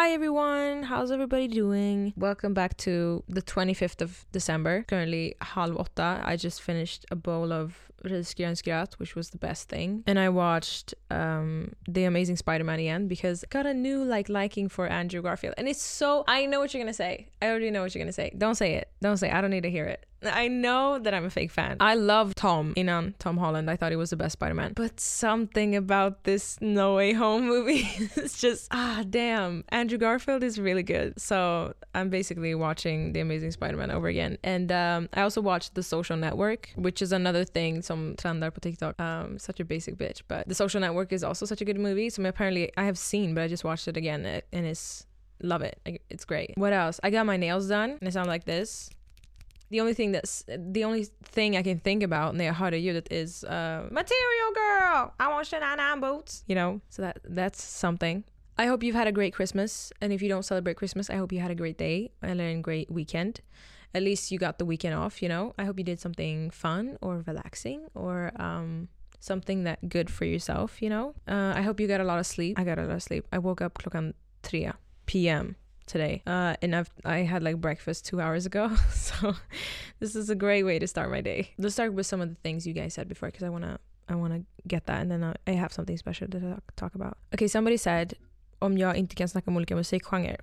Hi everyone, how's everybody doing? Welcome back to the 25th of December. Currently 7:30. I just finished a bowl of risgrynsgröt, which was the best thing. And I watched The Amazing Spider-Man again because I got a new liking for Andrew Garfield. And it's so... I know what you're gonna say. I already know what you're gonna say. Don't say it. Don't say it. I don't need to hear it. I know that I'm a fake fan. I love Tom Holland. I thought he was the best Spider-Man. But something about this No Way Home movie is just, damn. Andrew Garfield is really good. So I'm basically watching The Amazing Spider-Man over again. And I also watched The Social Network, which is another thing som trendar på TikTok. Such a basic bitch. But The Social Network is also such a good movie. So apparently I have seen, but I just watched it again. And it's, love it. It's great. What else? I got my nails done. And it sounds like this. The only thing I can think about när jag hörde ljudet is Material Girl, I want Shania boots. You know, so that's something. I hope you've had a great Christmas, and if you don't celebrate Christmas, I hope you had a great day and a great weekend. At least you got the weekend off, you know. I hope you did something fun or relaxing or something that good for yourself, you know. I hope you got a lot of sleep. I got a lot of sleep. I woke up klockan 3 p.m. today and I had breakfast 2 hours ago, so this is a great way to start my day. Let's start with some of the things you guys said before, because I wanna get that, and then I have something special to talk about. Okay, somebody said om jag inte kan snacka om olika musikgenrer.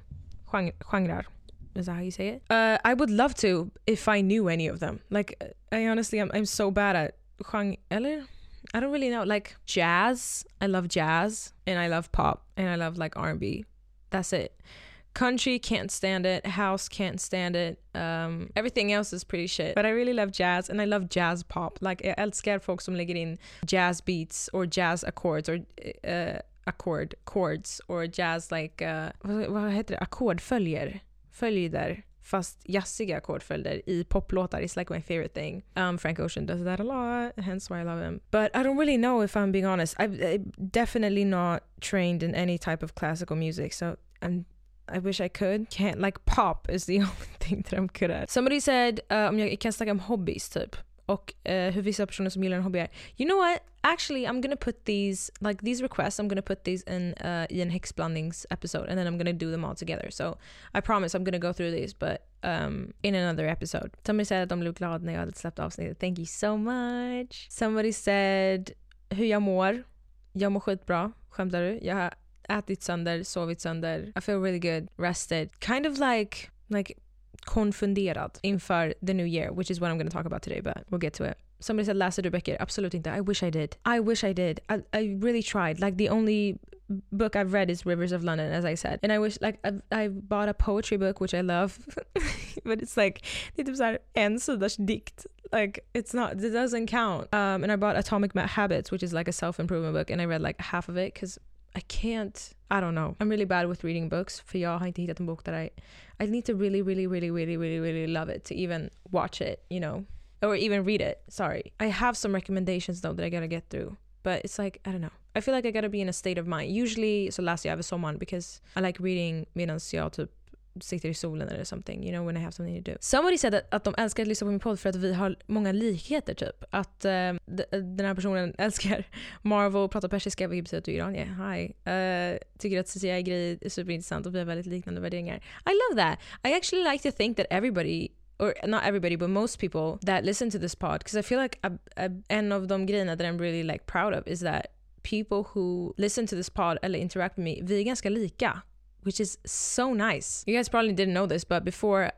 Is that how you say it? I would love to if I knew any of them. I honestly I'm so bad at eller I don't really know. Like jazz, I love jazz, and I love pop, and I love R&B. That's it. Country, can't stand it. House, can't stand it. Everything else is pretty shit. But I really love jazz, and I love jazz pop. Jag älskar folk som lägger in jazz beats or jazz accords or chords or jazz vad heter det? Ackordföljder. Följder. Fast jazziga ackordföljder i poplåtar. It's my favorite thing. Frank Ocean does that a lot, hence why I love him. But I don't really know, if I'm being honest. I'm definitely not trained in any type of classical music, so I wish I could. Can't. Pop is the only thing that I'm good at. Somebody said om jag kan snacka om hobbies typ. Och hur vissa personer som gillar en hobby är. You know what? Actually, I'm gonna put these requests, I'm gonna put these in en häxblandnings episode, and then I'm gonna do them all together. So I promise I'm gonna go through these, but in another episode. Somebody said att de blev glada när jag hade släppt avsnittet. Thank you so much. Somebody said hur jag mår. Jag mår skitbra. Skämtar du? Jag har ätit sönder, sovit sönder. I feel really good, rested. Kind of like konfunderad inför the new year, which is what I'm going to talk about today, but we'll get to it. Somebody said, läser du böcker? Absolut inte. I wish I did. I really tried. The only book I've read is Rivers of London, as I said. And I wish, I bought a poetry book, which I love. But it's det är typ såhär en sidas dikt. It doesn't count. And I bought Atomic Habits, which is a self-improvement book, and I read half of it, because I don't know. I'm really bad with reading books, för jag har inte hittat en bok that I need to really, really, really, really, really, really love it to even watch it, you know, or even read it. Sorry. I have some recommendations though that I gotta get through, but it's I don't know. I feel I gotta be in a state of mind. Usually så läser jag över sommaren, because I like reading medan jag typ sitter i solen eller something, you know, when I have something to do. Somebody said att de älskar att lyssna på min podd för att vi har många likheter typ. Att den här personen älskar Marvel, pratar persiska, vilket betyder att du är iranier. Hi. Tycker att CCI-grej är superintressant och vi har väldigt liknande värderingar. I love that. I actually like to think that everybody, or not everybody, but most people that listen to this pod, because I feel en av de grejerna that I'm really proud of is that people who listen to this pod eller interact with me, vi är ganska lika. Which is so nice. You guys probably didn't know this, but before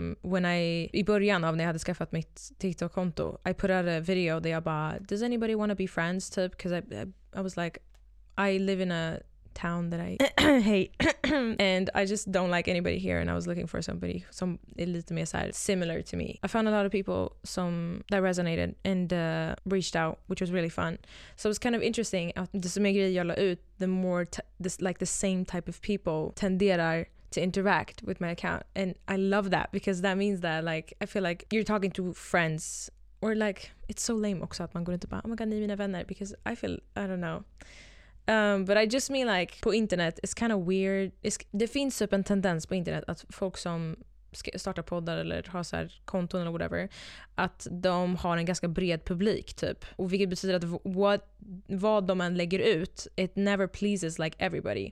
i början av när jag hade skaffat mitt TikTok-konto, I put out a video där jag bara, does anybody want to be friends typ? Because I was I live in a town that I hate and I just don't like anybody here, and I was looking for somebody som är lite mer så här similar to me. I found a lot of people that resonated and reached out, which was really fun. So it was kind of interesting att desto mer grejer jag la ut, the more the same type of people tenderar to interact with my account, and I love that, because that means that I feel you're talking to friends, or it's so lame också att man går inte bara oh my god, ni är mina vänner, because I don't know. But I just mean på internet, it's kind of weird. Det finns typ en tendens på internet att folk som startar poddar eller har så här konton eller whatever, att de har en ganska bred publik typ. Och vilket betyder att vad de än lägger ut, it never pleases everybody.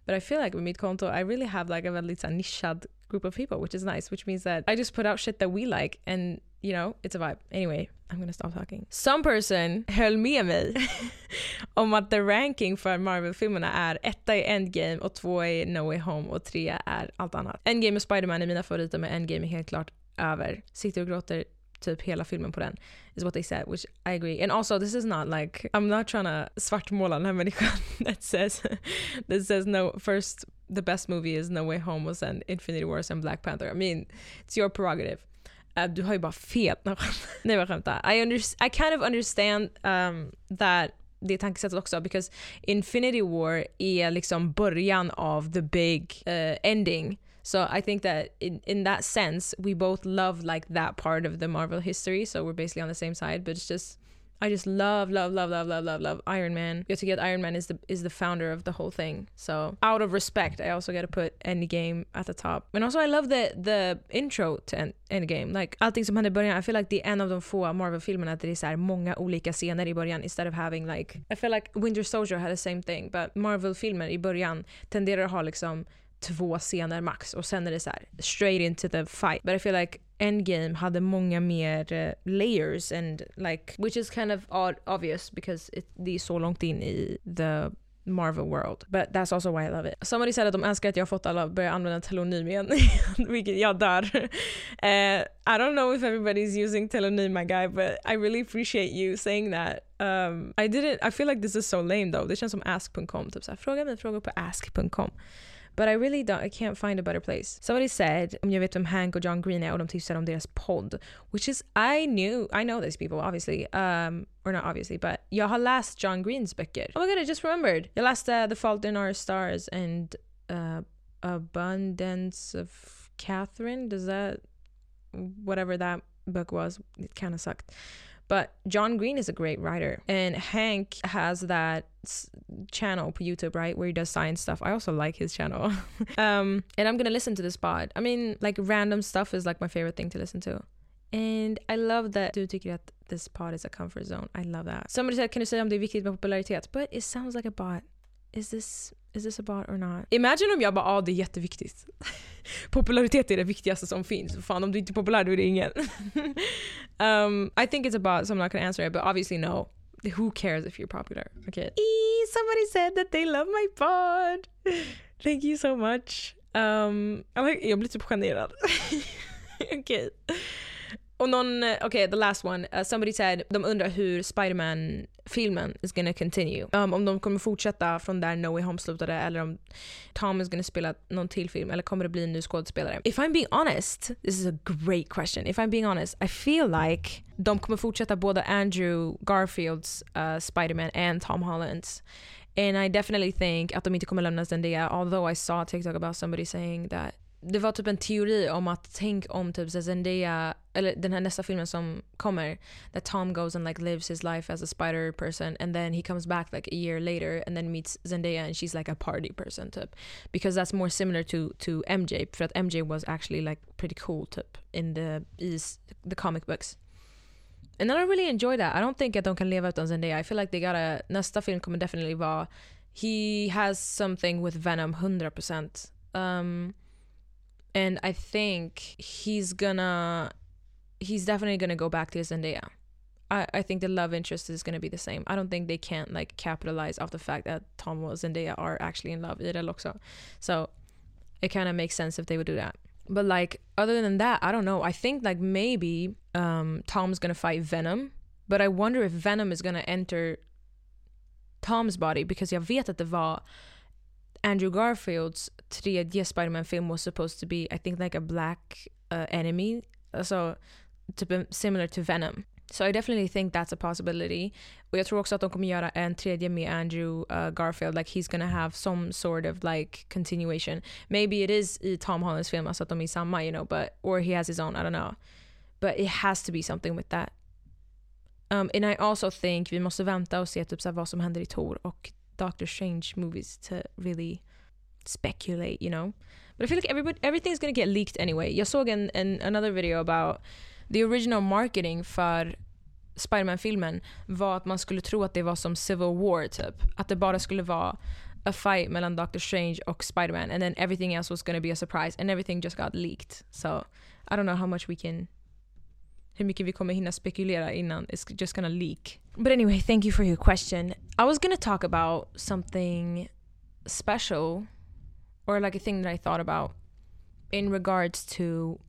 But I feel like with mitt konto I really have like a väldigt så nischad group of people, which is nice, which means that I just put out shit that we like and you know, it's a vibe. Anyway, I'm gonna stop talking. Some person höll med mig om att the ranking för Marvel-filmerna är 1 i Endgame och 2 i No Way Home och 3 är allt annat. Endgame och Spider-Man är mina favoriter, men Endgame är helt klart över. Sitter och gråter typ hela filmen på den is what they said, which I agree. And also this is not like, I'm not trying to svartmåla den här människan that says no, first the best movie is No Way Home och sen Infinity Wars and Black Panther. I mean, it's your prerogative. Du har ju bara fel. Nej, vad skämtar. I kind of understand that det tankesättet också, because Infinity War är liksom början av the big ending. So I think that in that sense we both love like that part of the Marvel history, so we're basically on the same side, but it's just I just love Iron Man. Jag tycker att Iron Man is the founder of the whole thing. So out of respect, I also got to put Endgame at the top. And also I love the intro to Endgame. Like allting som händer i början, I feel like det är en av de få Marvel-filmerna där det är så här många olika scener i början instead of having like, I feel like Winter Soldier had the same thing, but Marvel-filmer i början tenderar att ha liksom 2 scener max och sen är det så här straight into the fight. But I feel like Endgame hade många mer layers and like, which is kind of obvious because det är så långt in i the Marvel world. But that's also why I love it. Somebody said att de önskar att jag fått alla börja använda telonym igen. Vilket jag dör. I don't know if everybody's using telonym, my guy, but I really appreciate you saying that. I feel like this is so lame though. Det känns som ask.com. Typ så här, fråga mig frågor på ask.com. But I can't find a better place. Somebody said, om jag vet vem Hank och John Green är och de tipsade om deras podd, which is, I know these people obviously, or not obviously, but jag har läst John Greens böcker. Oh my god, I just remembered. Jag läste The Fault in Our Stars and Abundance of Catherine. Does that, whatever that book was, it kind of sucked. But John Green is a great writer. And Hank has that channel på YouTube, right? Where he does science stuff. I also like his channel. And I'm gonna listen to this pod. I mean, like random stuff is like my favorite thing to listen to. And I love that du tycker att this pod is a comfort zone. I love that. Somebody said, kan du säga om det är viktigt med popularitet? But it sounds like a bot. Is this a bot or not? Imagine om jag bara, det är jätteviktigt. Popularitet är det viktigaste som finns. Fan, om du inte är populär, då är det ingen. I think it's a bot, so I'm not gonna answer it, but obviously no. Who cares if you're popular? Okay. Somebody said that they love my pod. Thank you so much. Jag blir typ generad. Okay. Och the last one. Somebody said, de undrar hur Spider-Man-filmen is gonna continue. Om de kommer fortsätta från där No Way Home slutade, eller om Tom is gonna spela någon till film, eller kommer det bli en ny skådespelare. If I'm being honest, this is a great question. If I'm being honest, I feel like de kommer fortsätta både Andrew Garfields Spider-Man and Tom Hollands. And I definitely think att de inte kommer lämna Zendaya, although I saw a TikTok about somebody saying that det var typ en teori om att tänk om typ Zendaya, eller den här nästa filmen som kommer, that Tom goes and like lives his life as a spider person and then he comes back like a year later and then meets Zendaya and she's like a party person typ, because that's more similar to MJ, för att MJ was actually like pretty cool typ in the comic books. And I don't really enjoy that. I don't think att de kan leva utan Zendaya. I feel like nästa film kommer definitely vara, he has something with Venom 100%. And I think he's definitely gonna go back to Zendaya. I think the love interest is gonna be the same. I don't think they can't like capitalize off the fact that Tom and Zendaya are actually in love i det också. So it kind of makes sense if they would do that. But like other than that, I don't know. I think like maybe Tom's gonna fight Venom, but I wonder if Venom is gonna enter Tom's body, because jag vet att det var Andrew Garfields 3D Spider-Man-film was supposed to be, I think, like a black enemy, so similar to Venom. So I definitely think that's a possibility. Och jag tror också att de kommer göra en tredje med Andrew Garfield, like he's gonna have some sort of like continuation. Maybe it is i Tom Hollands film, alltså att de är samma, you know, but or he has his own, I don't know. But it has to be something with that. And I also think vi måste vänta och se typ så här vad som händer i Thor och Doctor Strange movies to really speculate, you know. But I feel like everything's gonna get leaked anyway. Jag såg another video about the original marketing för Spider-Man-filmen var att man skulle tro att det var som Civil War typ. Att det bara skulle vara a fight mellan Doctor Strange och Spider-Man, and then everything else was gonna be a surprise, and everything just got leaked. So I don't know hur mycket vi kommer hinna spekulera innan it's just gonna leak. But anyway, thank you for your question. I was gonna talk about something special, or like a thing that I thought about in regards to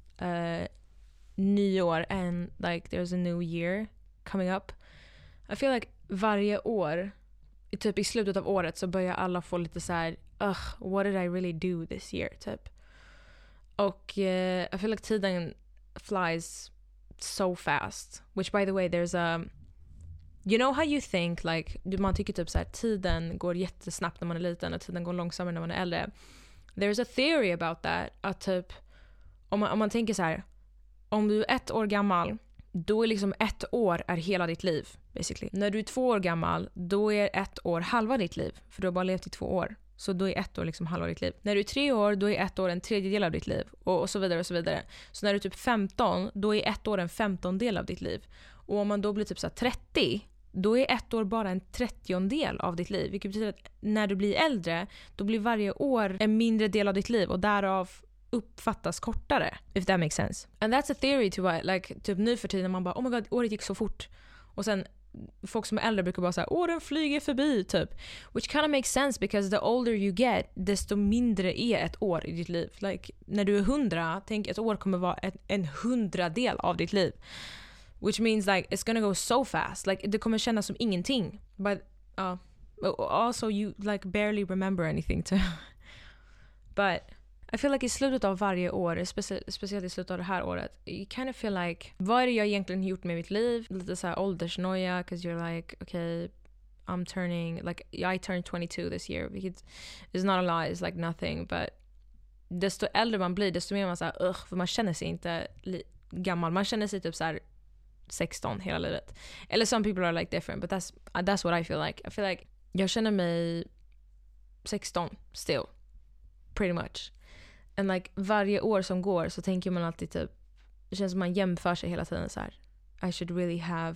nyår, and like there's a new year coming up. I feel like varje år, typ i slutet av året, så börjar alla få lite så här, what did I really do this year, typ. Och I feel like tiden flies so fast, which by the way, there's a, you know how you think like, man tycker typ så här, tiden går jättesnabbt när man är liten och tiden går långsammare när man är äldre. There's a theory about that, att typ om man tänker så här, om du är 1 år gammal, då är liksom 1 år är hela ditt liv basically. När du är 2 år gammal, då är 1 år halva ditt liv, för du har bara levt i 2 år. Så då är 1 år liksom halva ditt liv. När du är 3 år, då är 1 år en tredjedel av ditt liv. Och så vidare och så vidare. Så när du är typ 15, då är 1 år en 15-del av ditt liv. Och om man då blir typ så här 30, då är 1 år bara en 30-del av ditt liv. Vilket betyder att när du blir äldre, då blir varje år en mindre del av ditt liv. Och därav uppfattas kortare. If that makes sense. And that's a theory to why, like, typ nu för tiden man bara, oh my god, året gick så fort. Och sen folk som är äldre brukar bara säga, åren flyger förbi typ. Which kind of makes sense, because the older you get, desto mindre är 1 år i ditt liv. Like, när du är 100, tänk 1 år kommer vara en 100-del av ditt liv. Which means like it's gonna go so fast. Like, det kommer kännas som ingenting. But also you like barely remember anything too. But I feel like i slutet av varje år, speciellt i slutet av det här året, you kind of feel like, vad är det jag egentligen gjort med mitt liv? Lite så här åldersnoja, because you're like, okay, I turned 22 this year, vilket is not a lie, it's like nothing, but desto äldre man blir, desto mer man såhär, för man känner sig inte gammal, man känner sig typ så här 16 hela livet. Eller some people are like different, but that's what I feel like. I feel like jag känner mig 16 still, pretty much. And like varje år som går så tänker man alltid typ, det känns som man jämför sig hela tiden så här, I should really have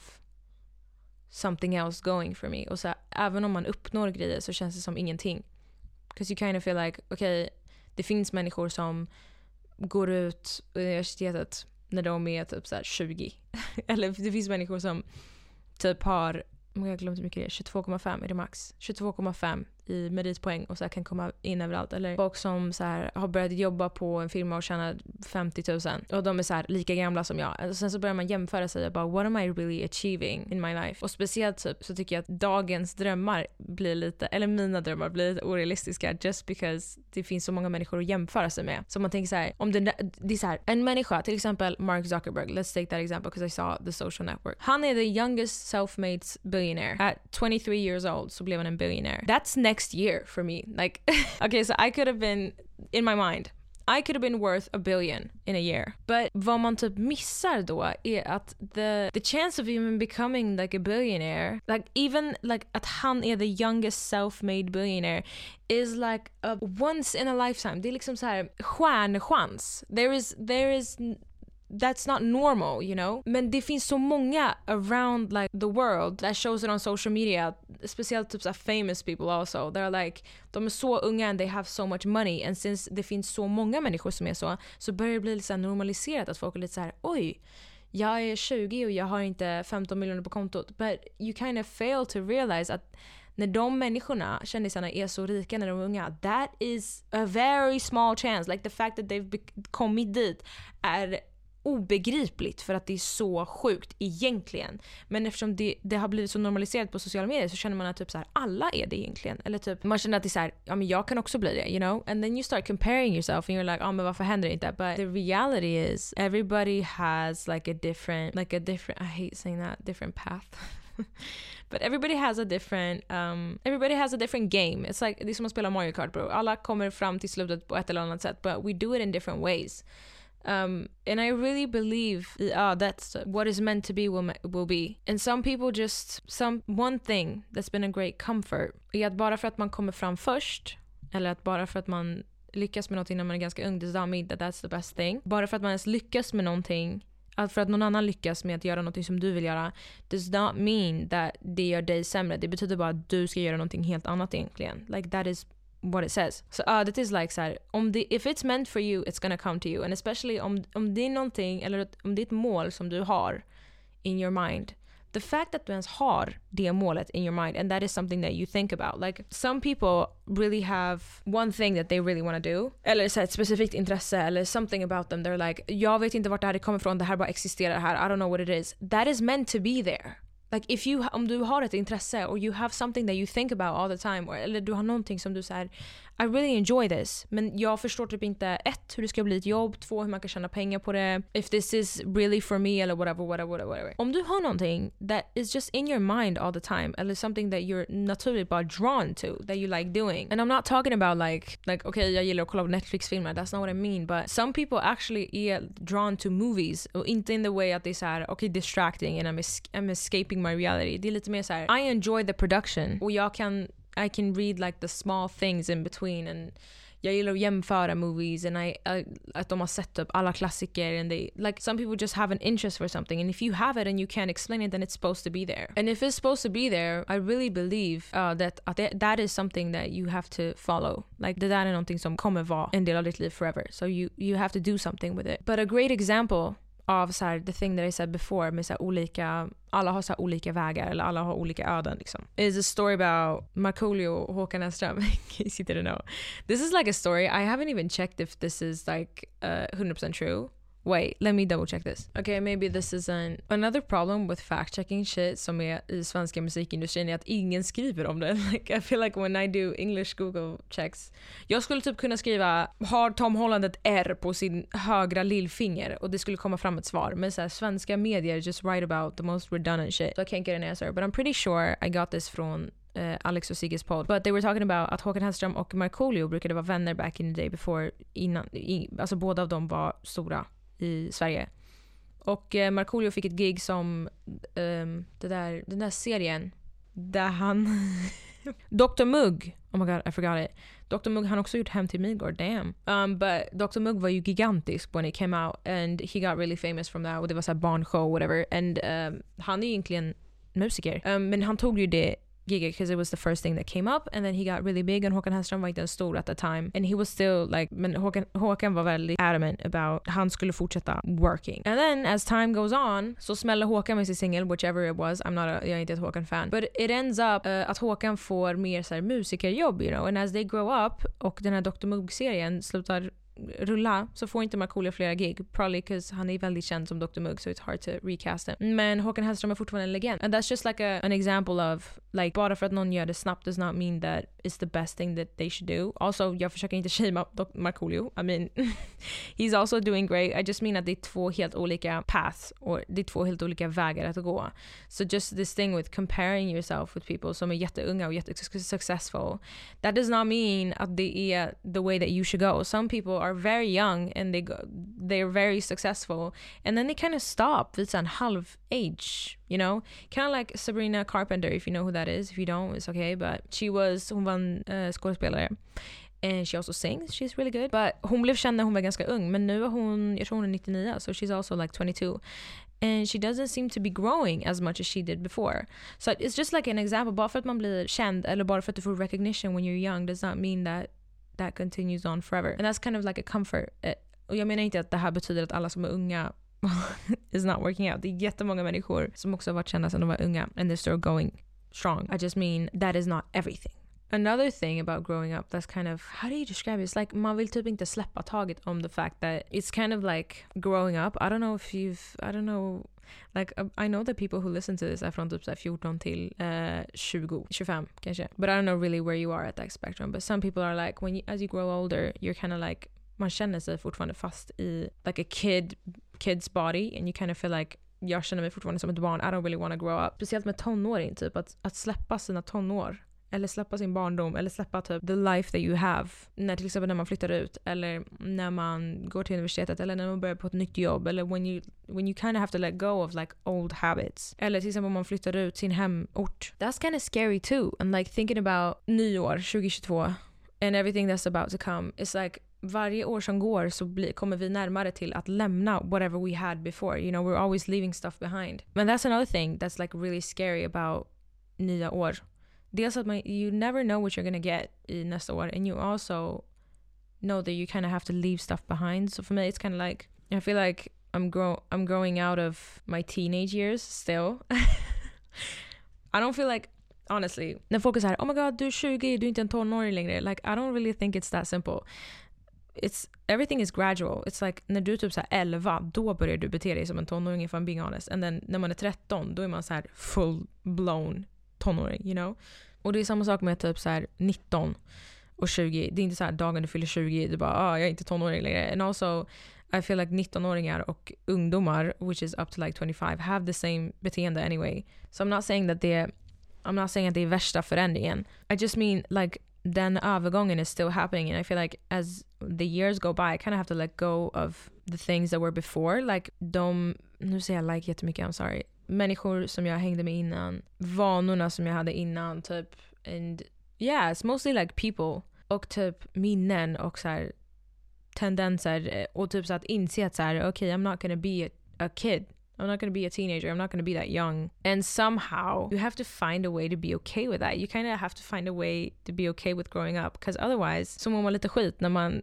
something else going for me. Och så här, även om man uppnår grejer så känns det som ingenting. Because you kind of feel like, okay, det finns människor som går ut universitetet när de är typ så här 20. Eller det finns människor som typ har, jag glömde hur mycket det är, 22,5 är det max. 22,5 i meritpoäng och så här kan komma in överallt. Eller folk som så här har börjat jobba på en firma och tjänar 50 000 och de är så här lika gamla som jag. Och sen så börjar man jämföra sig och bara, what am I really achieving in my life? Och speciellt typ så tycker jag att dagens drömmar blir lite, eller mina drömmar blir lite orealistiska, just because det finns så många människor att jämföra sig med. Så man tänker så här, om det är så här, en människa, till exempel Mark Zuckerberg, let's take that example because I saw The Social Network. Han är the youngest self-made billionaire. At 23 years old så blev han en billionaire. That's next year for me. Like, okay, so I could have been, in my mind, I could have been worth $1 billion in a year. But vad man typ missar då är att the chance of even becoming like a billionaire, like even like att han är the youngest self-made billionaire is like a once in a lifetime. Det är liksom så här stjärnchans. There is that's not normal, you know? Men det finns så många around like the world that shows it on social media, speciellt typ så famous people also. They're like, de är så unga and they have so much money, and since det finns så många människor som är så börjar det bli lite så här normaliserat att folk är lite så här, oj, jag är 20 och jag har inte 15 miljoner på kontot. But you kind of fail to realize att när de människorna, kändisarna, är så rika när de är unga, that is a very small chance. Like the fact that they've kommit dit är obegripligt, för att det är så sjukt egentligen. Men eftersom det har blivit så normaliserat på sociala medier så känner man att typ så här, alla är det egentligen. Eller typ man känner att det är så här, ja men jag kan också bli det, you know? And then you start comparing yourself and you're like, men varför händer det inte? But the reality is everybody has like a different, I hate saying that, different path. But everybody has a different game. It's like, det är som att spela Mario Kart, bro. Alla kommer fram till slutet på ett eller annat sätt, but we do it in different ways. And I really believe that's what is meant to be will be. And some people one thing that's been a great comfort är att bara för att man kommer fram först, eller att bara för att man lyckas med någonting när man är ganska ung, does not mean that that's the best thing. Bara för att man ens lyckas med någonting Att för att någon annan lyckas med att göra något som du vill göra does not mean that det gör dig sämre. Det betyder bara att du ska göra någonting helt annat egentligen. Like that is what it says. So that is like så här, if it's meant for you, it's gonna come to you. And especially om det är någonting, eller om det är ett mål som du har in your mind, the fact that du ens har det målet in your mind, and that is something that you think about. Like some people really have one thing that they really want to do, eller så ett specifikt intresse, eller something about them. They're like, jag vet inte vart det här kommer ifrån, det här bara existerar här, I don't know what it is. That is meant to be there. Like om du har ett intresse, or you have something that you think about all the time, eller du har någonting som du säger, I really enjoy this, men jag förstår typ inte hur det ska bli ett jobb, 2 hur man kan tjäna pengar på det, if this is really for me, eller whatever. Om du har någonting that is just in your mind all the time, eller something that you're naturligt bara drawn to, that you like doing, and I'm not talking about like okay, jag gillar att kolla på Netflix-filmer, that's not what I mean, but some people actually är drawn to movies, och inte in the way att det är såhär, okay, distracting and I'm escaping my reality. Det är lite mer såhär, I enjoy the production, och I can read like the small things in between, and jag gillar att jämföra movies, and att de har sett upp alla klassiker, and they like, some people just have an interest for something, and if you have it and you can't explain it, then it's supposed to be there. And if it's supposed to be there, I really believe that is something that you have to follow. Like det där är någonting som kommer vara en del av ditt liv forever, so you have to do something with it. But a great example av så här, the thing that I said before, med så här olika, alla har så här olika vägar, eller alla har olika öden liksom, is a story about Markoolio och Håkan Hellström. In case you didn't know, this is like a story, I haven't even checked if this is like 100% true. Wait, let me double check this. Okay, maybe this isn't. Another problem with fact-checking shit som är i svenska musikindustrin är att ingen skriver om det. Like, I feel like when I do English Google checks, jag skulle typ kunna skriva, har Tom Holland ett R på sin högra lillfinger, och det skulle komma fram ett svar. Men så här, svenska medier just write about the most redundant shit, so I can't get an answer. But I'm pretty sure I got this från Alex och Sigges podd. But they were talking about att Håkan Hellström och Markoolio brukade vara vänner back in the day before, alltså båda av dem var stora i Sverige. Och Markoolio fick ett gig som den där serien där han Dr. Mugg, oh my god, I forgot it. Dr. Mugg, han också gjort Hem till Midgård, damn. But Dr. Mugg var ju gigantisk when it came out, and he got really famous from that, och det var så här barnshow, whatever. And han är egentligen musiker, men han tog ju det giget because it was the first thing that came up, and then he got really big, and Håkan Hellström var inte en stor at the time, and he was still like, men Håkan var väldigt adamant about han skulle fortsätta working. And then as time goes on, så smäller Håkan med sin singel, whichever it was, jag är inte ett Håkan-fan, but it ends up att Håkan får mer så här musikerjobb, you know, and as they grow up, och den här Dr. Mugg-serien slutar rulla, så får inte Markoolio flera gig, probably because han är väldigt känd som Dr. Mugg, so it's hard to recast him. Men Håkan Hellström är fortfarande en legend, and that's just like an example of like, bara för att någon gör det snabbt does not mean that it's the best thing that they should do. Also, jag försöker inte shame Markoolio, I mean he's also doing great, I just mean att det är 2 helt olika paths, och det är 2 helt olika vägar att gå. So just this thing with comparing yourself with people som är jätteunga och jättesuccessful, that does not mean att det är the way that you should go. Some people are very young and they're very successful, and then they kind of stop vid en halv age, you know, kind of like Sabrina Carpenter, if you know who that is. If you don't, it's okay, but hon var en skådespelare, and she also sings, she's really good, but hon blev känd när hon var ganska ung, men nu är jag tror hon är 99, so she's also like 22, and she doesn't seem to be growing as much as she did before. So it's just like an example, bara för att man blir känd, eller bara för att du får recognition when you're young, does not mean that continues on forever. And that's kind of like a comfort. Och jag menar inte att det här betyder att alla som är unga is not working out. Det är jättemånga människor som också har varit kända sedan de var unga, and they're still going strong. I just mean that is not everything. Another thing about growing up that's kind of, how do you describe it? It's like man vill typ inte släppa taget om the fact that it's kind of like growing up. I don't know, like I know that people who listen to this är från typ 14 till 25 kanske. But I don't know really where you are at that spectrum. But some people are like, as you grow older, you're kind of like, man känner sig fortfarande fast i like a kid's body, and you kind of feel like, jag känner mig fortfarande som ett barn, I don't really want to grow up. Speciellt med tonåring, typ att släppa sina tonår, eller släppa sin barndom, eller släppa typ the life that you have, till exempel när man flyttar ut, eller när man går till universitetet, eller när man börjar på ett nytt jobb, eller when you kind of have to let go of like old habits, eller till exempel om man flyttar ut sin hemort. That's kind of scary too, and like thinking about nyår 2022 and everything that's about to come, it's like varje år som går så kommer vi närmare till att lämna whatever we had before. You know, we're always leaving stuff behind. And that's another thing that's like really scary about nya år. Dels att you never know what you're gonna get i nästa år, and you also know that you kind of have to leave stuff behind. So for me, it's kind of like, I feel like I'm growing out of my teenage years still. I don't feel like, honestly, när folk är så här, oh my god, du är 20, du är inte en tonåring längre. Like, I don't really think it's that simple. Everything is gradual. It's like, när du är typ så här 11, då börjar du bete dig som en tonåring, if I'm being honest. And then när man är 13, då är man så här full blown tonåring, you know? Och det är samma sak med typ så här 19 och 20. Det är inte så här dagen du fyller 20, du bara, jag är inte tonåring längre. And also, I feel like 19-åringar och ungdomar, which is up to like 25, have the same beteende anyway. So I'm not saying att det är värsta förändringen. I just mean like den övergången is still happening, and I feel like as the years go by I kind of have to let go of the things that were before. Like nu säger jag like jättemycket, I'm sorry. Människor som jag hängde med innan, vanorna som jag hade innan typ, and yeah, it's mostly like people och typ minnen och så här tendenser och typ så att inse att så här, okay, I'm not gonna be a kid. I'm not going to be a teenager. I'm not going to be that young. And somehow you have to find a way to be okay with that. You kind of have to find a way to be okay with growing up. Because otherwise så mår man lite skit när man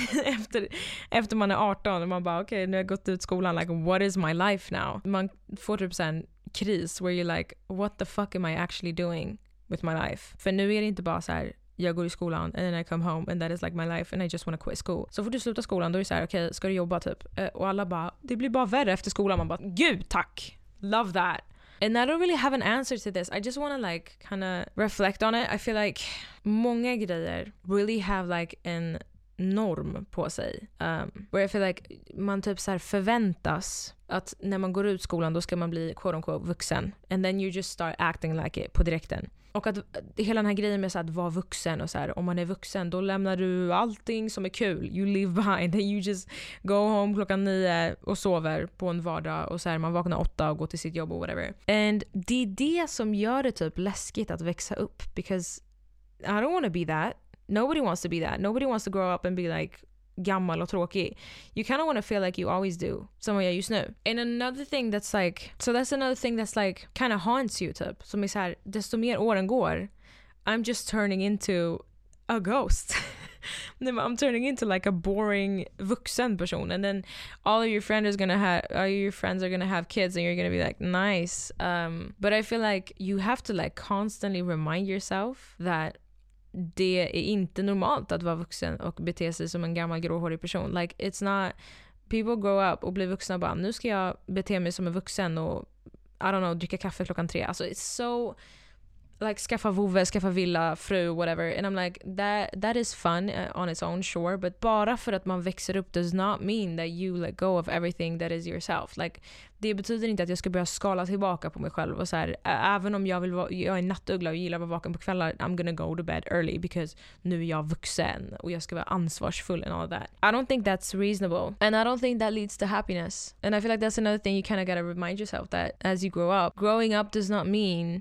efter man är 18 och man bara okay, nu har jag gått ut skolan. Like, what is my life now? Man får typ en kris where you're like, what the fuck am I actually doing with my life? För nu är det inte bara så här, jag går i skolan and then I come home and that is like my life and I just want to quit school. Så får du sluta skolan, då är det så här, okej, ska du jobba typ? Och alla bara, det blir bara värre efter skolan. Man bara, gud tack, love that. And I don't really have an answer to this. I just want to like kind of reflect on it. I feel like många grejer really have like en norm på sig. Where I feel like man typ så här förväntas att när man går ut skolan då ska man bli quote unquote vuxen. And then you just start acting like it på direkten. Och att hela den här grejen med så att vara vuxen och så här, om man är vuxen då lämnar du allting som är kul. You leave behind and you just go home 9:00 och sover på en vardag och så här, man vaknar 8 och går till sitt jobb och whatever. And det är det som gör det typ läskigt att växa upp, because I don't want to be that. Nobody wants to be that. Nobody wants to grow up and be like gammal och tråkig. You kind of want to feel like you always do, som jag just nu. And another thing that's like, so that's another thing that's like kind of haunts you typ, som är så här, desto mer åren går, I'm just turning into a ghost. I'm turning into like a boring vuxen person, and then all of your friends are gonna have kids and you're gonna be like nice. But I feel like you have to like constantly remind yourself that det är inte normalt att vara vuxen och bete sig som en gammal gråhårig person. Like, it's not, people grow up och blir vuxna och bara, nu ska jag bete mig som en vuxen och I don't know, dricka kaffe 3:00. Alltså, it's so like, skaffa vovve, skaffa villa, fru, whatever. And I'm like, that is fun on its own, sure. But bara för att man växer upp does not mean that you let go of everything that is yourself. Like, det betyder inte att jag ska börja skala tillbaka på mig själv och så här, även om jag är nattuggla och gillar att vara vaken på kvällar, I'm gonna go to bed early because nu är jag vuxen och jag ska vara ansvarsfull and all that. I don't think that's reasonable, and I don't think that leads to happiness. And I feel like that's another thing you kind of gotta remind yourself that as you grow up, growing up does not mean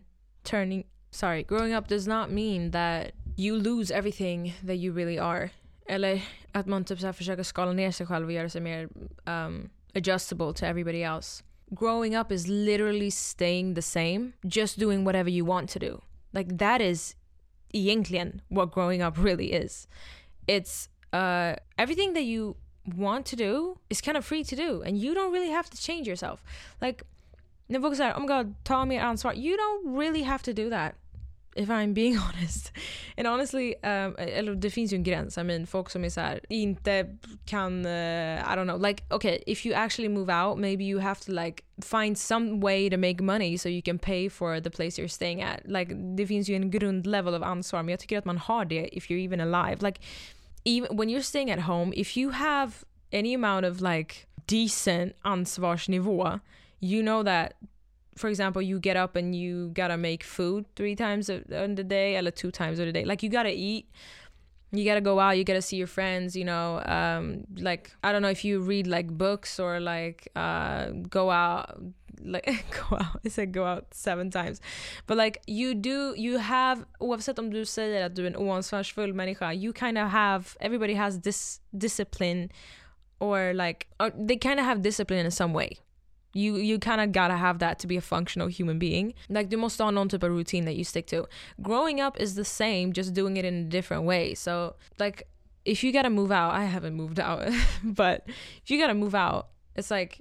that you lose everything that you really are. Eller att man typ så här försöker skala ner sig själv och göra sig mer adjustable to everybody else. Growing up is literally staying the same, just doing whatever you want to do. Like, that is egentligen what growing up really is. It's everything that you want to do is kind of free to do, and you don't really have to change yourself. Like, när folk säger, oh my god, ta mer ansvar, you don't really have to do that, if I'm being honest. And honestly, eller det finns ju en gräns. I mean, folk som är så här, inte kan, I don't know, like, okay, if you actually move out, maybe you have to like find some way to make money so you can pay for the place you're staying at. Like, det finns ju en grundlevel av ansvar, men jag tycker att man har det if you're even alive. Like, even when you're staying at home, if you have any amount of like decent ansvarsnivå, you know that, for example, you get up and you gotta make food 3 times in the day, or 2 times in the day. Like, you gotta eat, you gotta go out, you gotta see your friends, you know. Like, I don't know if you read like books or like go out, like go out. I said go out 7 times. But like you have, oavsett om du säger att du är en oansvarsfull människa, you kind of have, everybody has this discipline, or like, or they kind of have discipline in some way. You kind of gotta have that to be a functional human being. Like, du måste ha någon typ av routine that you stick to. Growing up is the same, just doing it in a different way. So like, if you gotta move out, I haven't moved out, but if you gotta move out, it's like,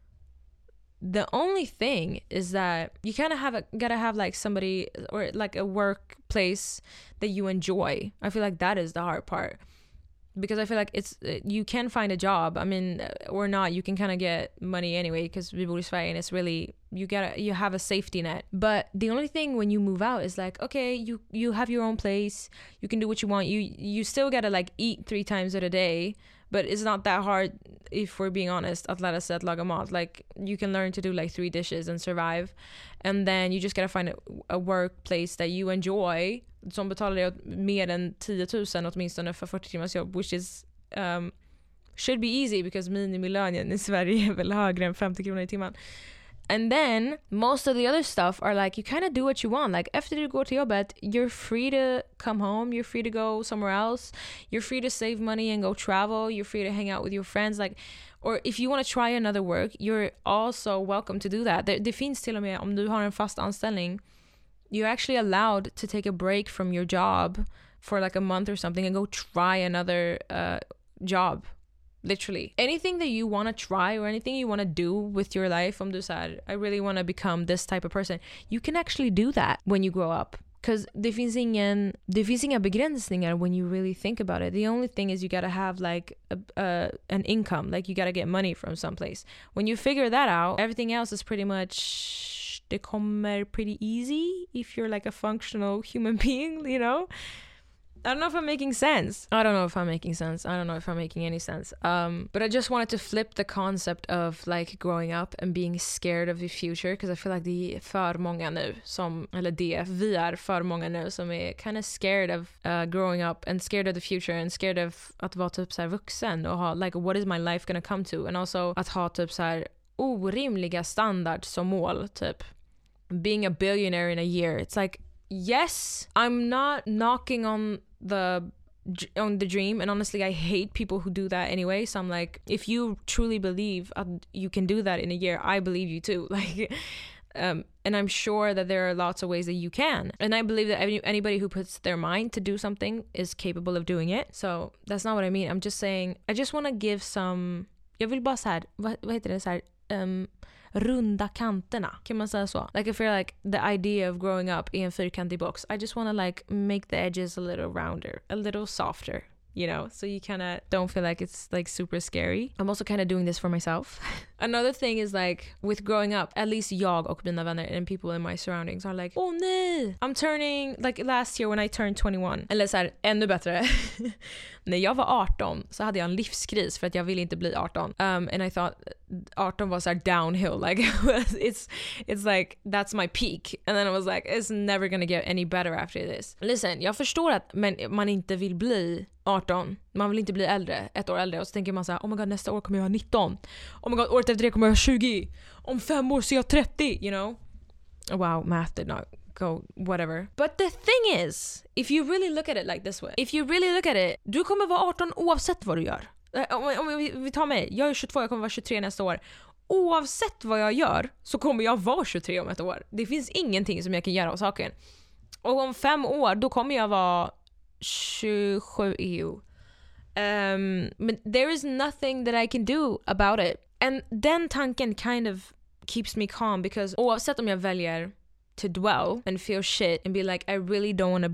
the only thing is that you kind of gotta have like somebody, or like a workplace that you enjoy. I feel like that is the hard part. Because I feel like you can find a job, I mean, or not, you can kind of get money anyway, because vi bor i Sverige and it's really, you have a safety net. But the only thing when you move out is like, okay, you have your own place, you can do what you want, you still gotta like eat 3 times a day, but it's not that hard, if we're being honest, att lära sig att laga mat. Like, you can learn to do like 3 dishes and survive, and then you just gotta find a workplace that you enjoy, som betalar dig mer än 10 000 åtminstone för 40 timmars jobb, which is should be easy, because minimilönen i Sverige är väl högre än 50 kronor i timmen. And then most of the other stuff are like, you kind of do what you want. Like, after you go to jobbet, you're free to come home, you're free to go somewhere else, you're free to save money and go travel, you're free to hang out with your friends, like, or if you want to try another work, you're also welcome to do that. Det finns till och med, om du har en fast anställning, you're actually allowed to take a break from your job for like a month or something and go try another job. Literally. Anything that you want to try, or anything you want to do with your life, om du säger, I really want to become this type of person, you can actually do that when you grow up. Because det finns inga begränsningar when you really think about it. The only thing is you gotta have like an income, like you gotta get money from someplace. When you figure that out, everything else is pretty much, det kommer pretty easy if you're like a functional human being, you know? I don't know if I'm making sense. I don't know if I'm making any sense. But I just wanted to flip the concept of like growing up and being scared of the future, because I feel like det är för många nu vi är för många nu som är kind of scared of growing up, and scared of the future, and scared of att vara typ så här vuxen och ha like, what is my life gonna come to, and also att ha typ så här orimliga standard som mål, typ being a billionaire in a year. It's like, yes, I'm not knocking on the dream, and honestly I hate people who do that anyway, so I'm like, if you truly believe you can do that in a year, I believe you too, like and I'm sure that there are lots of ways that you can, and I believe that anybody who puts their mind to do something is capable of doing it. So that's not what I mean. I'm just saying, I just want to give some, jag vill bara så här, vad heter det, så här, runda kanterna, kan man säga så? Like, I feel like the idea of growing up i en fyrkantig box, I just want to like make the edges a little rounder, a little softer, you know, so you kind of don't feel like it's like super scary. I'm also kind of doing this for myself. Another thing is like, with growing up, at least jag och mina vänner and people in my surroundings are like, oh nej, I'm turning, like last year when I turned 21, eller så här, ännu bättre när jag var 18 så hade jag en livskris för att jag ville inte bli 18, and I thought 18 was like downhill, like it's like that's my peak, and then I was like, it's never gonna get any better after this. Listen, jag förstår att man inte vill bli 18, man vill inte bli äldre, 1 år äldre, och så tänker man så här, oh my god, nästa år kommer jag vara 19, oh my god, året efter det kommer jag vara 20, om 5 år så är jag 30, you know. Wow, math did not go, whatever. But the thing is, if you really look at it like this way, if you really look at it, du kommer vara 18 oavsett vad du gör. Om vi tar mig, jag är 22, jag kommer vara 23 nästa år. Oavsett vad jag gör så kommer jag vara 23 om 1 år. Det finns ingenting som jag kan göra av saken. Och om 5 år, då kommer jag vara 27 EU. But there is nothing that I can do about it. And den tanken kind of keeps me calm, because oavsett om jag väljer to dwell and feel shit and be like, I really don't want to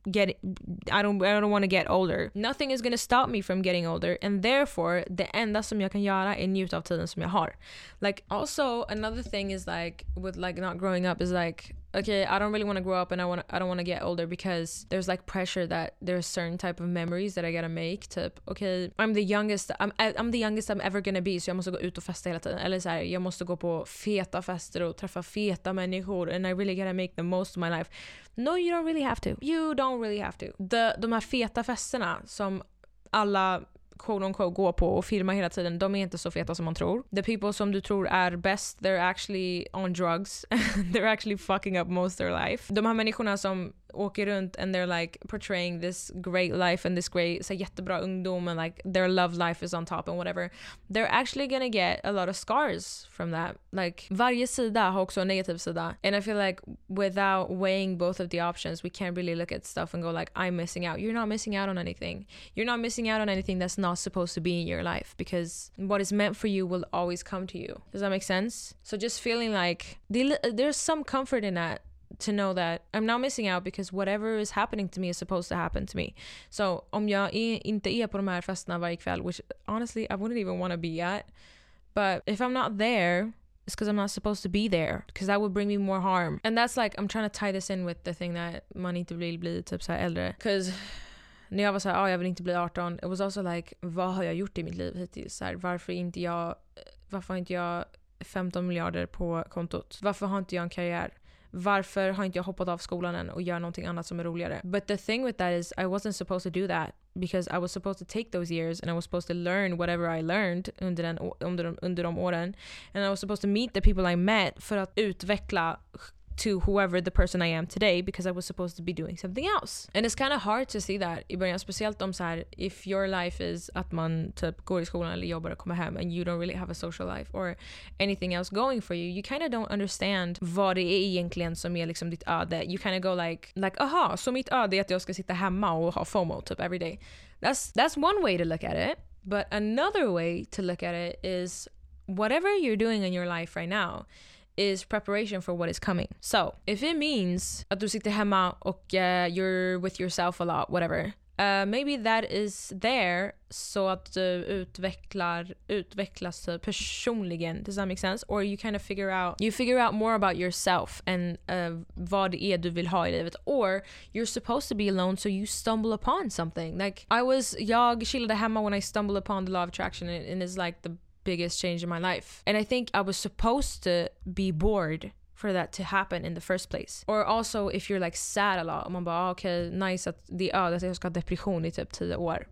I don't want to get older, nothing is going to stop me from getting older, and therefore det enda som jag kan göra är njuta av tiden som jag har. Like, also another thing is like, with like not growing up is like, okay, I don't really want to grow up, and I don't want to get older, because there's like pressure that there's certain type of memories that I gotta make, typ, okay, I'm the youngest I'm ever gonna be, så jag måste gå ut och festa hela tiden, eller så här, jag måste gå på feta fester och träffa feta människor, and I really gotta make the most of my life. No, you don't really have to. De här feta festerna som alla quote unquote gå på och filma hela tiden, de är inte så feta som man tror. The people som du tror är bäst, they're actually on drugs. They're actually fucking up most of their life. De här människorna som åker runt and they're like portraying this great life and this great, så jättebra ungdom and like their love life is on top and whatever, they're actually gonna get a lot of scars from that. Like varje sida har också en negativ sida, and I feel like without weighing both of the options we can't really look at stuff and go like, I'm missing out. You're not missing out on anything. You're not missing out on anything that's not supposed to be in your life, because what is meant for you will always come to you. Does that make sense? So just feeling like there's some comfort in that, to know that I'm not missing out because whatever is happening to me is supposed to happen to me. So om jag inte är på de här festerna varje kväll, which honestly I wouldn't even want to be at, but if I'm not there, it's because I'm not supposed to be there, because that would bring me more harm. And that's like, I'm trying to tie this in with the thing that man inte vill bli typ så här äldre. Because när jag var så här, jag vill inte bli 18, it was also like, vad har jag gjort i mitt liv hittills? Så här, varför har inte jag 15 miljarder på kontot? Varför har inte jag en karriär? Varför har inte jag hoppat av skolan än och gör någonting annat som är roligare? But the thing with that is I wasn't supposed to do that, because I was supposed to take those years and I was supposed to learn whatever I learned under de åren, and I was supposed to meet the people I met för att utveckla to whoever the person I am today, because I was supposed to be doing something else. And it's kind of hard to see that i början, speciellt om så här, if your life is att man typ går i skolan eller jobbar och kommer hem and you don't really have a social life or anything else going for you kind of don't understand vad det är egentligen som är liksom ditt öde. You kind of go like aha, så mitt öde är att jag ska sitta hemma och ha FOMO typ every day. That's one way to look at it, but another way to look at it is whatever you're doing in your life right now is preparation for what is coming. So if it means att du sitter hemma och you're with yourself a lot, whatever, maybe that is there så att du utvecklas personligen. Does that make sense? Or you kind of figure out more about yourself and vad det är du vill ha i livet. Or you're supposed to be alone so you stumble upon something. Like jag chillade hemma when I stumbled upon the law of attraction, and it's like the biggest change in my life. And I think I was supposed to be bored for that to happen in the first place. Or also if you're like sad a lot, man bara okay, nice att att jag ska ha depression i typ 10 år.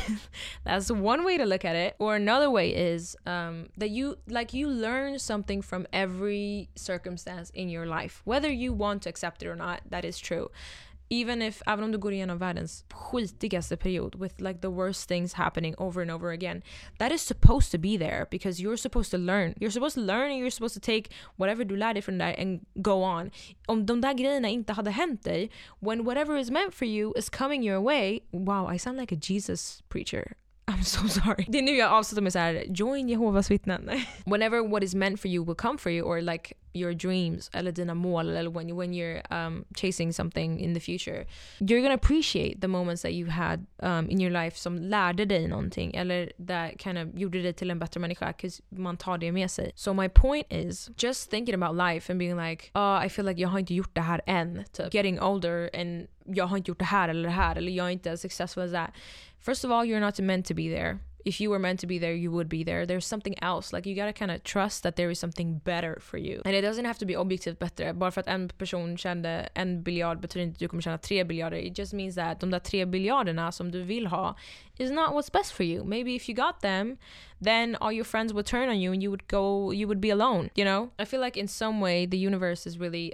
That's one way to look at it. Or another way is that you learn something from every circumstance in your life, whether you want to accept it or not. That is true. Även om du går igenom världens skitigaste period with like the worst things happening over and over again, that is supposed to be there because you're supposed to learn. You're supposed to learn and you're supposed to take whatever du lär dig från där and go on. Om de där grejerna inte hade hänt dig, when whatever is meant for you is coming your way, wow, I sound like a Jesus preacher. I'm so sorry. Det är nu jag avslutar med så här: join Jehovas vittnen. Whenever what is meant for you will come for you, or like your dreams eller dina mål, eller when you're chasing something in the future, you're gonna appreciate the moments that you had in your life som lärde dig någonting eller that kind of gjorde dig till en bättre människa, because man tar det med sig. So my point is just thinking about life and being like, I feel like jag har inte gjort det här än, typ getting older and jag har inte gjort det här eller jag är inte as successful as that. First of all, you're not meant to be there. If you were meant to be there, you would be there. There's something else. Like you gotta kind of trust that there is something better for you. And it doesn't have to be objektivt bättre. Bara för att en person tjänade 1 biljard betyder inte att du kommer tjäna 3 biljarder. It just means that de där 3 biljarderna som du vill ha is not what's best for you. Maybe if you got them, then all your friends would turn on you and you would be alone, you know? I feel like in some way the universe is really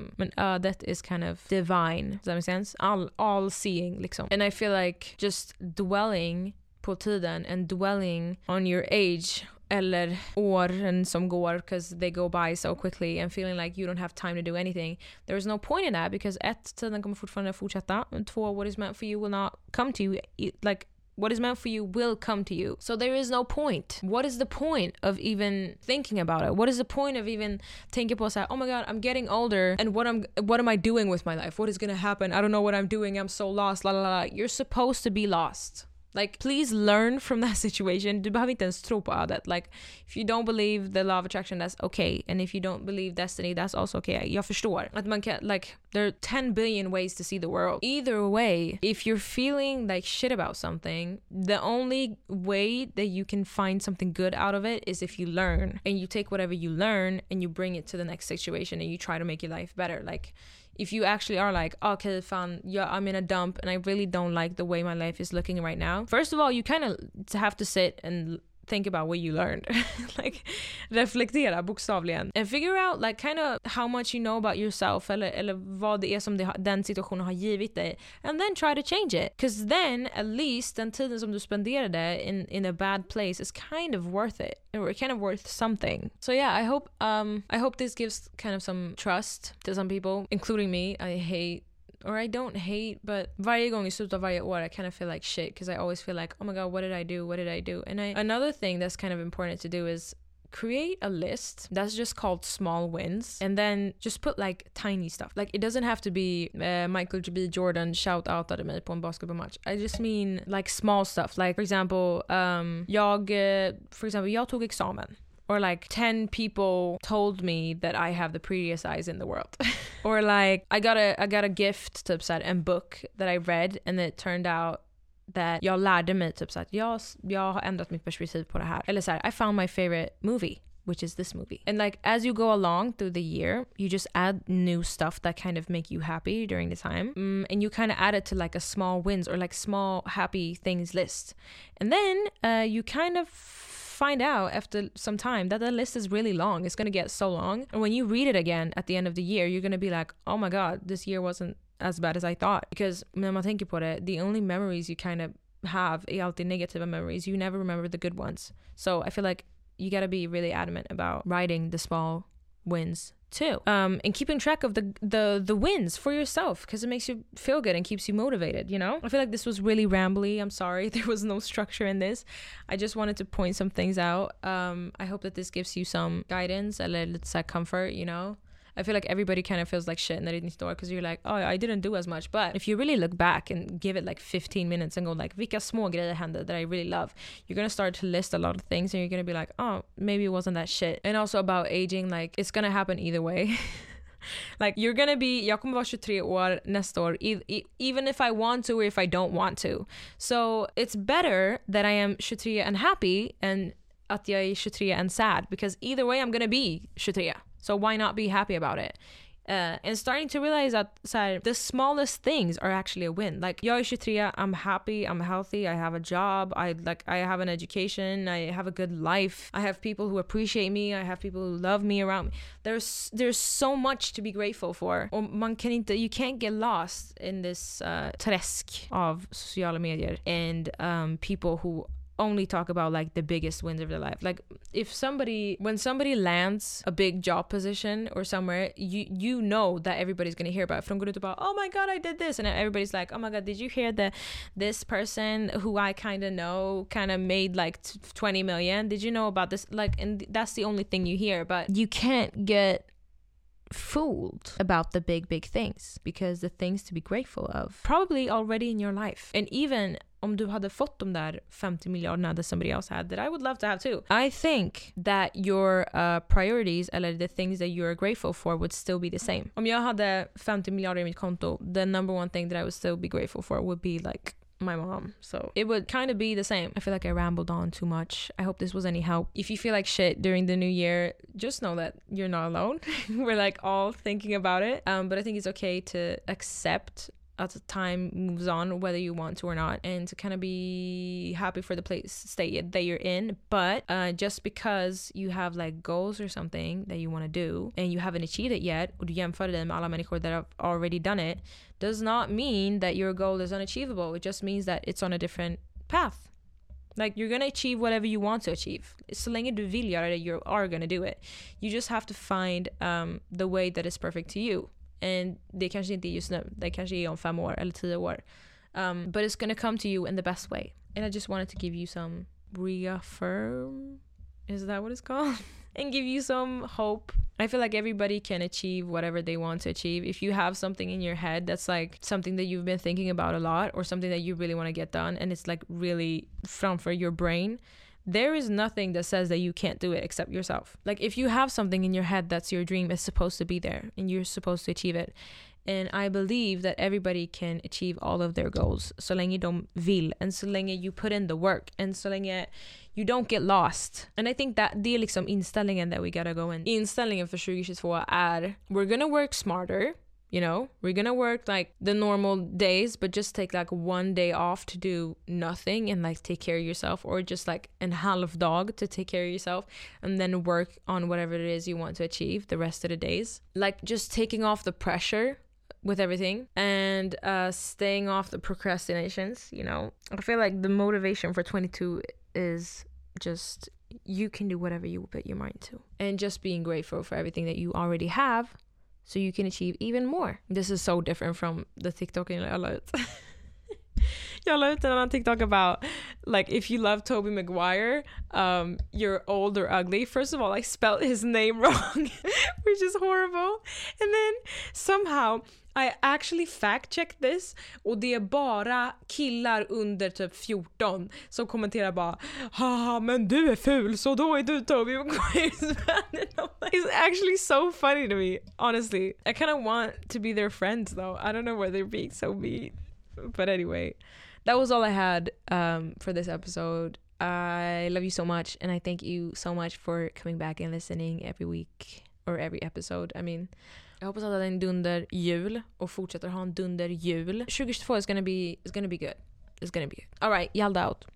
that is kind of divine. Does that make sense? All seeing liksom. And I feel like just dwelling på tiden and dwelling on your age eller åren som går, because they go by so quickly, and feeling like you don't have time to do anything. There is no point in that, because 1, tiden kommer fortfarande fortsätta, and 2, what is meant for you will not come to you. Like what is meant for you will come to you. So there is no point. What is the point of even thinking about it? What is the point of even thinking på så här, oh my god, I'm getting older and what am I doing with my life? What is gonna happen? I don't know what I'm doing. I'm so lost. La la la. You're supposed to be lost. Like, please learn from that situation. Du behöver inte ens tro på ödet. Like, if you don't believe the law of attraction, that's okay. And if you don't believe destiny, that's also okay. Jag förstår. Att man kan, like, there are 10 billion ways to see the world. Either way, if you're feeling like shit about something, the only way that you can find something good out of it is if you learn. And you take whatever you learn and you bring it to the next situation and you try to make your life better. Like, if you actually are like, okay, fine, yeah, I'm in a dump and I really don't like the way my life is looking right now. First of all, you kind of have to sit and think about what you learned. Like reflektera bokstavligen. And figure out like kind of how much you know about yourself eller vad det är som den situationen har givit dig. And then try to change it. Because then at least den tiden som du spenderade in a bad place is kind of worth it. Or kind of worth something. So yeah, I hope this gives kind of some trust to some people, including me. I don't hate, but varje gång I slutet av varje år I kind of feel like shit because I always feel like, oh my god, what did I do? And another thing that's kind of important to do is create a list that's just called small wins, and then just put like tiny stuff. Like it doesn't have to be Michael B. Jordan shout-outade mig på en basketbollmatch. I just mean like small stuff. Like for example, jag tog examen. Or like 10 people told me that I have the prettiest eyes in the world. Or like I got a gift, typ så här, en book that I read and it turned out that jag lärde mig typ så att jag har ändrat mitt perspektiv på det här. Eller så här, I found my favorite movie, which is this movie. And like as you go along through the year, you just add new stuff that kind of make you happy during the time. And you kind of add it to like a small wins or like small happy things list. And then you kind of find out after some time that the list is really long. It's going to get so long. And when you read it again at the end of the year, you're going to be like, oh my god, this year wasn't as bad as I thought. Because när man tänker på det, the only memories you kind of have är alltid negativa memories. You never remember the good ones. So I feel like you got to be really adamant about writing the small wins too, and keeping track of the wins for yourself, because it makes you feel good and keeps you motivated, you know. I feel like this was really rambly. I'm sorry there was no structure in this. I just wanted to point some things out. I hope that this gives you some guidance, eller lite så här comfort, you know. I feel like everybody kind of feels like shit när det är nytt år because you're like, oh, I didn't do as much. But if you really look back and give it like 15 minutes and go like, vilka små grejer hände that I really love, you're gonna start to list a lot of things and you're gonna be like, oh, maybe it wasn't that shit. And also about aging, like it's gonna happen either way. Like you're gonna be, jag kommer vara 23 år nästa år, even if I want to or if I don't want to. So it's better that I am 23 and happy and att jag är 23 and sad, because either way I'm gonna be 23. So why not be happy about it? And starting to realize that the smallest things are actually a win. Like jag är 23, I'm happy, I'm healthy, I have a job, I have an education, I have a good life, I have people who appreciate me, I have people who love me around me. There's so much to be grateful for. Och you can't get lost in this träsk av sociala medier and people who only talk about like the biggest wins of their life. Like when somebody lands a big job position or somewhere, you know that everybody's gonna hear about it. För de går ut och bara, oh my god, I did this, and everybody's like, oh my god, did you hear this person who I kind of know kind of made like 20 million? Did you know about this? Like, and that's the only thing you hear. But you can't get fooled about the big things, because the things to be grateful of probably already in your life. And even om du hade fått de där 50 miljarderna that somebody else had, that I would love to have too, I think that your priorities eller the things that you're grateful for would still be the same. Om jag hade 50 miljarder i mitt konto, the number one thing that I would still be grateful for would be like my mom. So it would kind of be the same. I feel like I rambled on too much. I hope this was any help. If you feel like shit during the new year, just know that you're not alone. We're like all thinking about it. But I think it's okay to accept as time moves on, whether you want to or not, and to kind of be happy for the state that you're in. But just because you have like goals or something that you want to do and you haven't achieved it yet, och du jämför det med alla människor that have already done it, does not mean that your goal is unachievable. It just means that it's on a different path. Like you're gonna achieve whatever you want to achieve. Så länge du vill göra det, you are gonna do it. You just have to find the way that is perfect to you. And det kanske inte är just nu. Det kanske är om 5 år eller 10 år. But it's gonna come to you in the best way. And I just wanted to give you some reaffirm. Is that what it's called? And give you some hope. I feel like everybody can achieve whatever they want to achieve. If you have something in your head that's like something that you've been thinking about a lot, or something that you really want to get done, and it's like really framför your brain, there is nothing that says that you can't do it except yourself. Like if you have something in your head that's your dream, it's supposed to be there and you're supposed to achieve it. And I believe that everybody can achieve all of their goals så länge de vill, and så länge you put in the work, and så länge you don't get lost. And I think that det är liksom inställningen that we gotta go in. Inställningen för 2022 är we're gonna work smarter, You know, we're gonna work like the normal days, but just take like one day off to do nothing and like take care of yourself, or just like an half dog to take care of yourself, and then work on whatever it is you want to achieve the rest of the days. Like just taking off the pressure with everything, and staying off the procrastinations, you know. I feel like the motivation for 22 is just you can do whatever you put your mind to, and just being grateful for everything that you already have so you can achieve even more. This is so different from the TikTok jag la ut. Jag la ut en annan TikTok about like if you love Tobey Maguire, you're old or ugly. First of all, I spelled his name wrong, which is horrible. And then somehow I actually fact-checked this, och det är bara killar under typ 14 som kommenterar bara, haha, men du är ful, så då är du Tobey Maguire's fan. It's actually so funny to me, honestly. I kind of want to be their friends though. I don't know why they're being so mean. But anyway, that was all I had for this episode. I love you so much, and I thank you so much for coming back and listening every week, or every episode. I mean, jag hoppas att det är en dunder jul och fortsätter ha en dunder jul. 2022 is gonna be good. It's gonna be good. All right, yelled out.